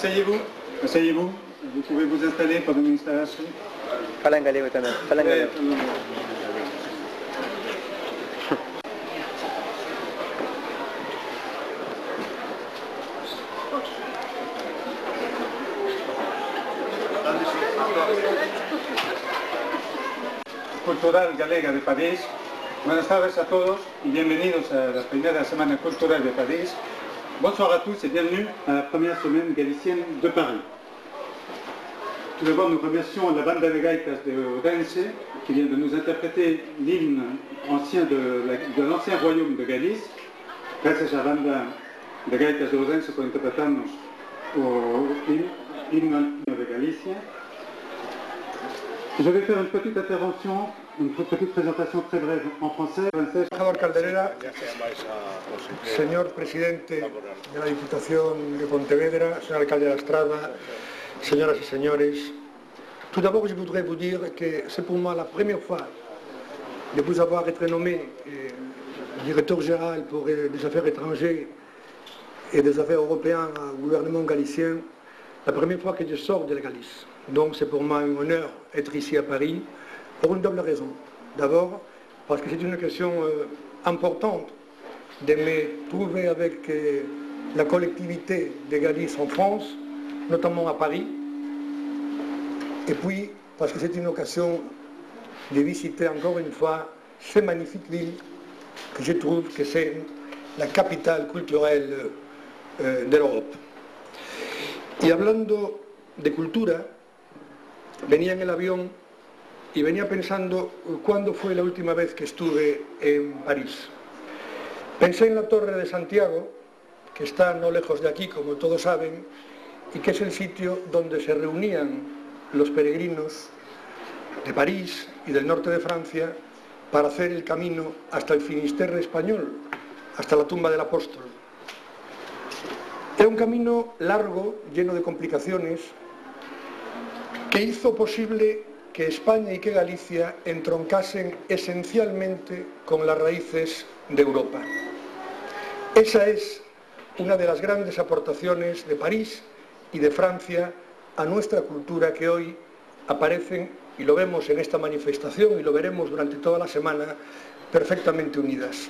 Asseyez-vous, asseyez-vous. Vous pouvez vous installer pendant une installation. Fala en galego también, fala en galego. Cultural Galega de París. Buenas tardes a todos y bienvenidos a la primera semana culturelle de París. Bonsoir à tous et bienvenue à la première semaine galicienne de Paris. Tout d'abord, nous remercions la banda de gaitas de Odense qui vient de nous interpréter l'hymne ancien de l'ancien royaume de Galice. Gracias a la banda de gaitas de Odense por interpretarnos el himno de Galicia. Je vais faire une petite intervention, une petite présentation très brève en français. Embajador Calderera, señor presidente de la Diputación de Pontevedra, señor alcalde de la Estrada, señoras y señores, tout d'abord je voudrais vous dire que c'est pour moi la première fois de vous avoir été nommé directeur général pour les affaires étrangères et des affaires européennes au gouvernement galicien, la première fois que je sors de la Galice. Donc c'est pour moi un honneur d'être ici à Paris, pour une double raison. D'abord, parce que c'est une question importante de me trouver avec la collectivité de Galice en France, notamment à Paris. Et puis, parce que c'est une occasion de visiter encore une fois cette magnifique ville que je trouve que c'est la capitale culturelle de l'Europe. Y hablando de cultura, venía en el avión y venía pensando cuándo fue la última vez que estuve en París. Pensé en la Torre de Santiago, que está no lejos de aquí, como todos saben, y que es el sitio donde se reunían los peregrinos de París y del norte de Francia para hacer el camino hasta el Finisterre español, hasta la tumba del apóstol. Era un camino largo, lleno de complicaciones, que hizo posible que España y que Galicia entroncasen esencialmente con las raíces de Europa. Esa es una de las grandes aportaciones de París y de Francia a nuestra cultura que hoy aparecen, y lo vemos en esta manifestación y lo veremos durante toda la semana, perfectamente unidas.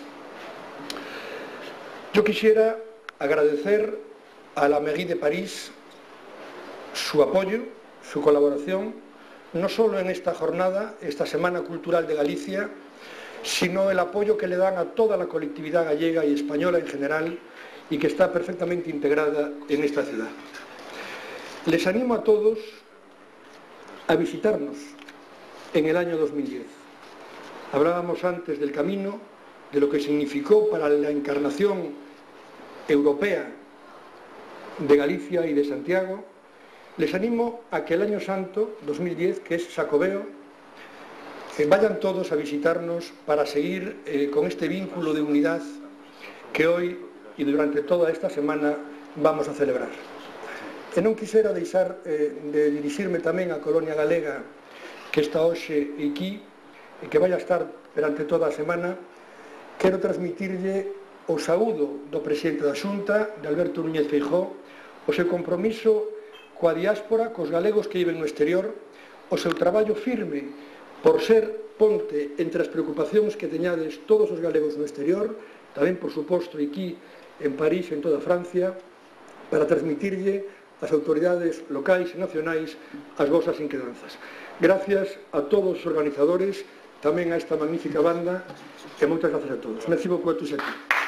Yo quisiera agradecer a la Mairie de París su apoyo, su colaboración, no solo en esta jornada, esta Semana Cultural de Galicia, sino el apoyo que le dan a toda la colectividad gallega y española en general y que está perfectamente integrada en esta ciudad. Les animo a todos a visitarnos en el año 2010. Hablábamos antes del camino, de lo que significó para la encarnación europea de Galicia y de Santiago. Les animo a que el año santo 2010, que es Xacobeo, vayan todos a visitarnos para seguir con este vínculo de unidad que hoy y durante toda esta semana vamos a celebrar. E non quisera deixar de dirixirme tamén á Colonia Galega que está hoxe aquí e que vai a estar durante toda a semana. Quero transmitirlle o saúdo do presidente da Xunta, de Alberto Núñez Feijóo, o seu compromiso coa diáspora, cos galegos que viven no exterior, o seu traballo firme por ser ponte entre as preocupacións que teñades todos os galegos no exterior, tamén, por suposto, aquí en París e en toda Francia, para transmitirlle ás autoridades locais e nacionais as vosas inquedanzas. Gracias a todos os organizadores, tamén a esta magnífica banda, e moitas gracias a todos. Merci beaucoup a tous aquí.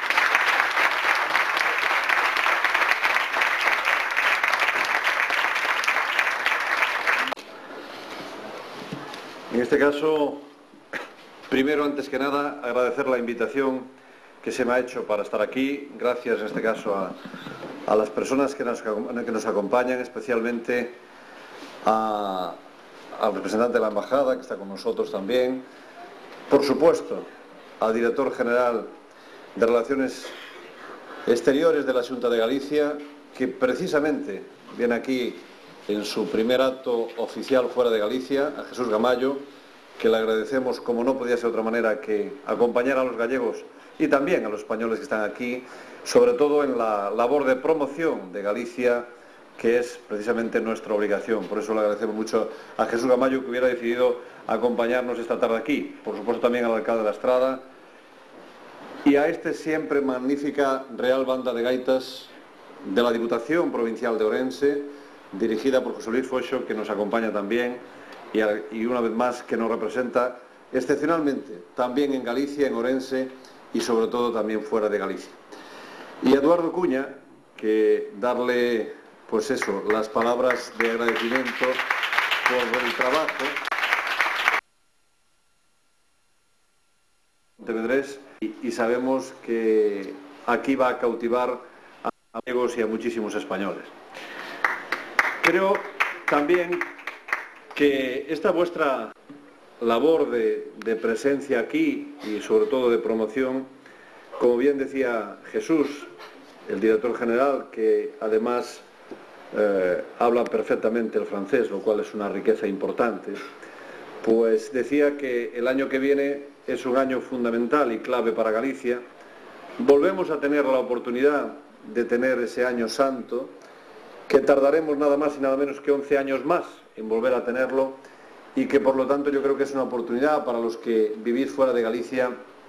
En este caso, primero, antes que nada, agradecer la invitación que se me ha hecho para estar aquí. Gracias, en este caso, a las personas que nos acompañan, especialmente al representante de la Embajada, que está con nosotros también. Por supuesto, al director general de Relaciones Exteriores de la Xunta de Galicia, que precisamente viene aquí en su primer acto oficial fuera de Galicia, a Jesús Gamayo, que le agradecemos, como no podía ser de otra manera, que acompañara a los gallegos y también a los españoles que están aquí, sobre todo en la labor de promoción de Galicia que es precisamente nuestra obligación. Por eso le agradecemos mucho a Jesús Gamayo que hubiera decidido acompañarnos esta tarde aquí, por supuesto también al alcalde de La Estrada y a esta siempre magnífica Real Banda de Gaitas de la Diputación Provincial de Orense, dirigida por José Luis Foxo, que nos acompaña también y una vez más que nos representa excepcionalmente también en Galicia, en Orense y sobre todo también fuera de Galicia. Y a Eduardo Cuña, que darle, pues eso, las palabras de agradecimiento por el trabajo Pontevedrés y sabemos que aquí va a cautivar a gallegos y a muchísimos españoles. Creo también que esta vuestra labor de presencia aquí y sobre todo de promoción, como bien decía Jesús, el director general, que además habla perfectamente el francés, lo cual es una riqueza importante, pues decía que el año que viene es un año fundamental y clave para Galicia. Volvemos a tener la oportunidad de tener ese año santo, que tardaremos nada más y nada menos que 11 años más en volver a tenerlo, y que por lo tanto yo creo que es una oportunidad para los que vivís fuera de Galicia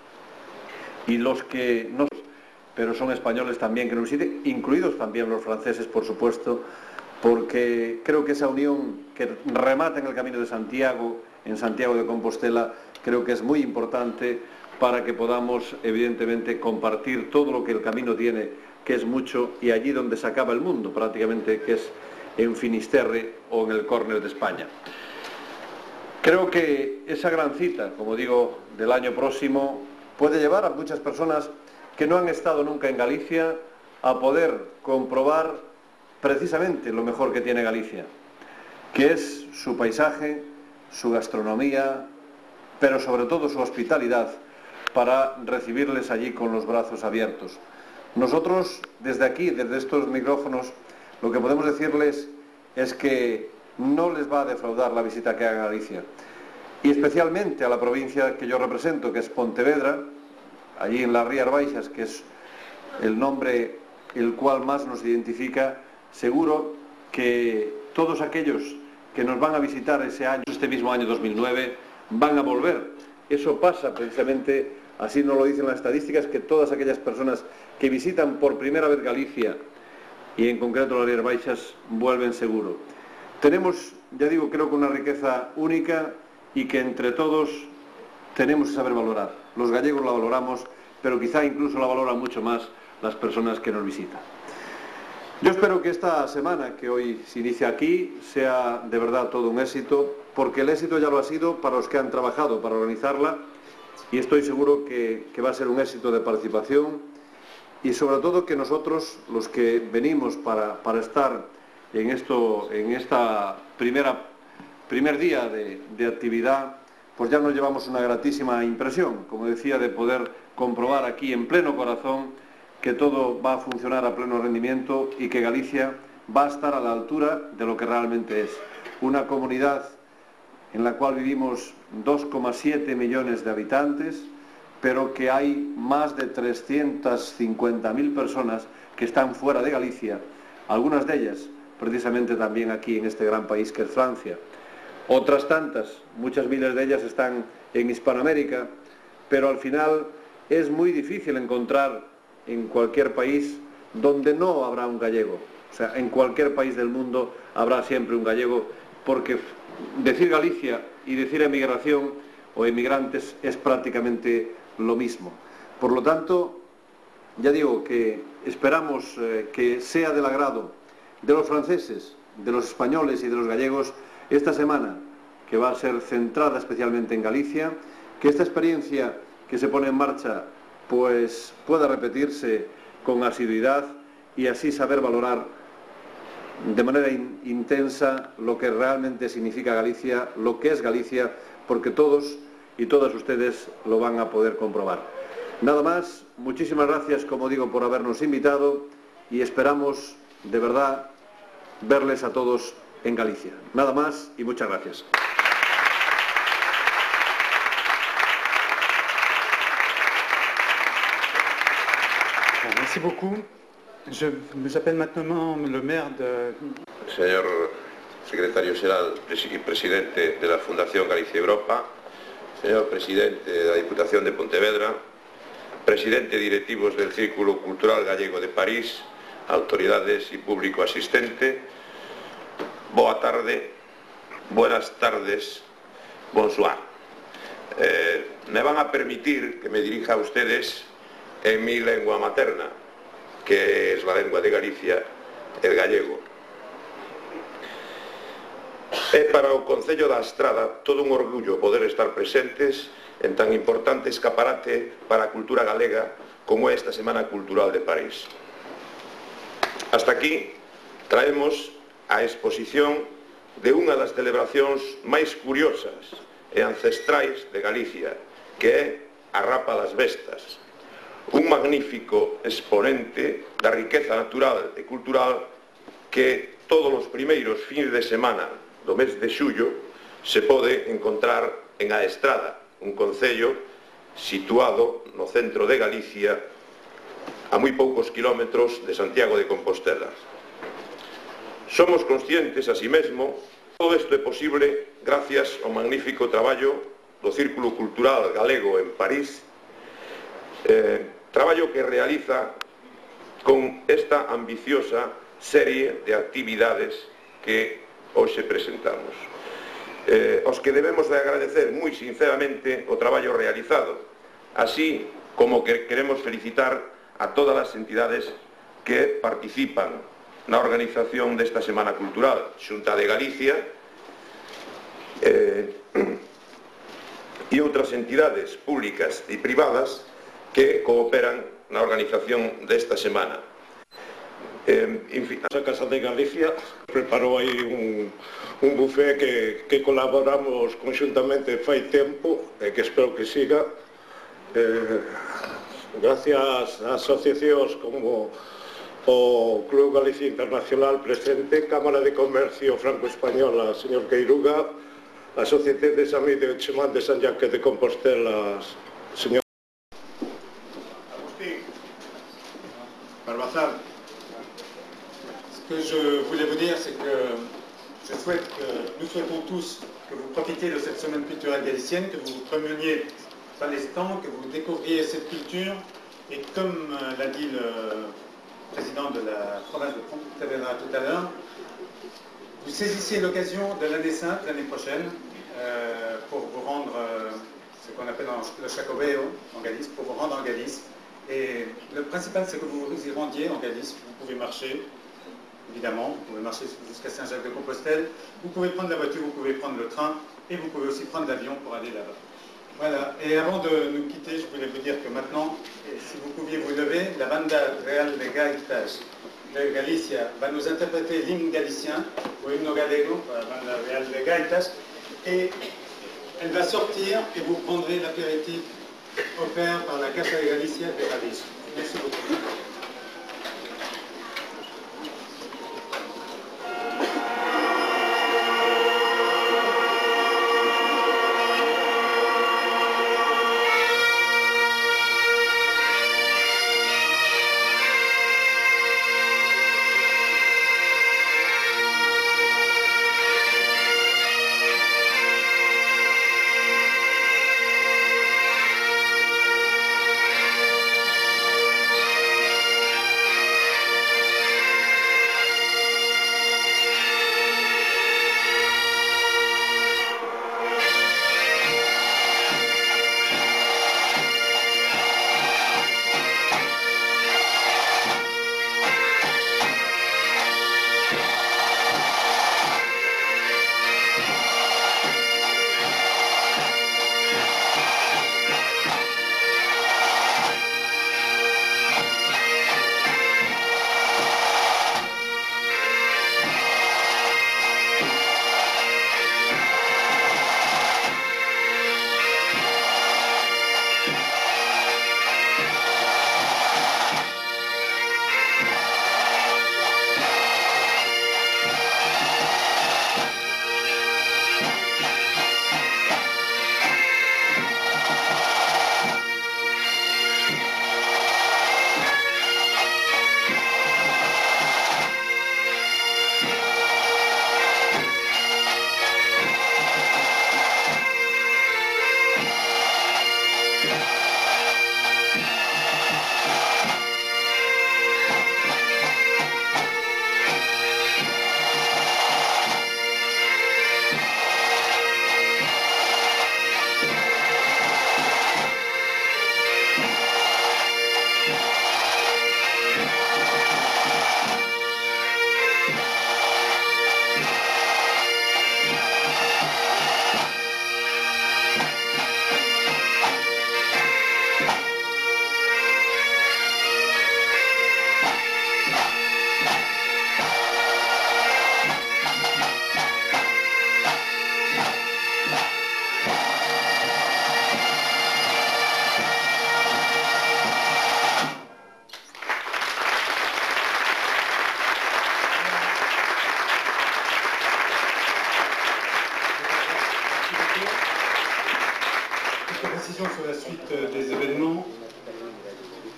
y los que no, pero son españoles también que nos visiten, incluidos también los franceses, por supuesto, porque creo que esa unión que remata en el Camino de Santiago, en Santiago de Compostela, creo que es muy importante para que podamos, evidentemente, compartir todo lo que el camino tiene, que es mucho, y allí donde se acaba el mundo, prácticamente, que es en Finisterre o en el córner de España. Creo que esa gran cita, como digo, del año próximo, puede llevar a muchas personas que no han estado nunca en Galicia a poder comprobar precisamente lo mejor que tiene Galicia, que es su paisaje, su gastronomía, pero sobre todo su hospitalidad, para recibirles allí con los brazos abiertos. Nosotros, desde aquí, desde estos micrófonos, lo que podemos decirles es que no les va a defraudar la visita que hagan a Galicia, y especialmente a la provincia que yo represento, que es Pontevedra, allí en las Rías Baixas, que es el nombre el cual más nos identifica. Seguro que todos aquellos que nos van a visitar ese año, este mismo año 2009, van a volver. Eso pasa precisamente, así nos lo dicen las estadísticas, que todas aquellas personas que visitan por primera vez Galicia, y en concreto las Rías Baixas, vuelven seguro. Tenemos, ya digo, creo que una riqueza única y que entre todos tenemos que saber valorar. Los gallegos la valoramos, pero quizá incluso la valoran mucho más las personas que nos visitan. Yo espero que esta semana que hoy se inicia aquí sea de verdad todo un éxito, porque el éxito ya lo ha sido para los que han trabajado para organizarla, y estoy seguro que va a ser un éxito de participación, y sobre todo que nosotros, los que venimos para estar en esta primer día de actividad, pues ya nos llevamos una gratísima impresión, como decía, de poder comprobar aquí en pleno corazón que todo va a funcionar a pleno rendimiento y que Galicia va a estar a la altura de lo que realmente es. Una comunidad en la cual vivimos 2,7 millones de habitantes, pero que hay más de 350.000 personas que están fuera de Galicia, algunas de ellas precisamente también aquí en este gran país que es Francia. Otras tantas, muchas miles de ellas están en Hispanoamérica, pero al final es muy difícil encontrar en cualquier país donde no habrá un gallego. O sea, en cualquier país del mundo habrá siempre un gallego, porque decir Galicia y decir emigración o emigrantes es prácticamente lo mismo. Por lo tanto, ya digo que esperamos que sea del agrado de los franceses, de los españoles y de los gallegos esta semana, que va a ser centrada especialmente en Galicia, que esta experiencia que se pone en marcha pues pueda repetirse con asiduidad y así saber valorar de manera intensa lo que realmente significa Galicia, lo que es Galicia, porque todos y todas ustedes lo van a poder comprobar. Nada más, muchísimas gracias, como digo, por habernos invitado y esperamos de verdad verles a todos en Galicia. Nada más y muchas gracias. Merci beaucoup. Je m'appelle maintenant le maire de... Señor secretario xeral y presidente de la Fundación Galicia Europa, señor presidente de la Diputación de Pontevedra, presidente directivos del Círculo Cultural Gallego de París, autoridades y público asistente, boa tarde, buenas tardes, bonsoir. Me van a permitir que me dirija a ustedes en mi lengua materna, que es la lengua de Galicia, el gallego. É para o Concello da Estrada todo un orgullo poder estar presentes en tan importante escaparate para a cultura galega como é esta Semana Cultural de París. Hasta aquí traemos a exposición de unha das celebracións máis curiosas e ancestrais de Galicia, que é a Rapa das Bestas, un magnífico exponente da riqueza natural e cultural que todos os primeiros fins de semana do mes de xullo se pode encontrar en A Estrada, un concello situado no centro de Galicia a moi poucos kilómetros de Santiago de Compostela. Somos conscientes, así mesmo, todo isto é posible gracias ao magnífico traballo do Círculo Cultural Galego en París, traballo que realiza con esta ambiciosa serie de actividades que hoxe presentamos. Os que debemos de agradecer moi sinceramente o traballo realizado, así como que queremos felicitar a todas as entidades que participan na organización desta Semana Cultural, Xunta de Galicia e outras entidades públicas e privadas que cooperan na organización desta semana. En fin, a Casa de Galicia preparou aí un buffet que colaboramos conxuntamente fai tempo e que espero que siga gracias a asociacións como o Club Galicia Internacional presente, Cámara de Comercio Franco-Española, señor Queiruga, a Sociedade de Samí de Chemán de San Jacques de Compostela, señor Agustín Barbazal. Ce que je voulais vous dire, c'est que nous souhaitons tous que vous profitiez de cette semaine culturelle galicienne, que vous promeniez par les stands, que vous découvriez cette culture, et comme l'a dit le président de la province de Pontevedra tout à l'heure, vous saisissiez l'occasion de l'année sainte, l'année prochaine, pour vous rendre, ce qu'on appelle le Chacobeo en Galice, pour vous rendre en Galice. Et le principal, c'est que vous y rendiez en Galice. Vous pouvez marcher, évidemment, vous pouvez marcher jusqu'à Saint-Jacques-de-Compostelle, vous pouvez prendre la voiture, vous pouvez prendre le train, et vous pouvez aussi prendre l'avion pour aller là-bas. Voilà, et avant de nous quitter, je voulais vous dire que maintenant, si vous pouviez vous lever, la Banda Real de Gaitas de Galicia va nous interpréter l'hymne galicien, ou himno galego, la Banda Real de Gaitas, et elle va sortir et vous prendrez l'apéritif offert par la Casa de Galicia de París. Merci beaucoup.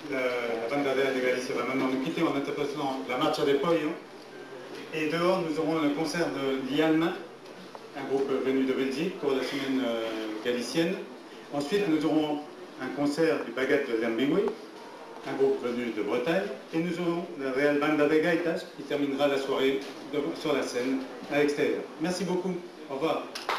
la bandadera de Galicia va maintenant nous quitter en interprétant la Marcha de Pollo. Et dehors, nous aurons le concert de Lialma, un groupe venu de Belgique pour la semaine galicienne. Ensuite, nous aurons un concert du Baguette de Lambiwi, un groupe venu de Bretagne. Et nous aurons la Real Banda de Gaitas qui terminera la soirée sur la scène à l'extérieur. Merci beaucoup. Au revoir.